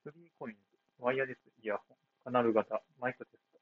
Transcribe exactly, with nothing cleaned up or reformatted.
スリーコインズ、ワイヤレスイヤホン、カナル型、マイクテスト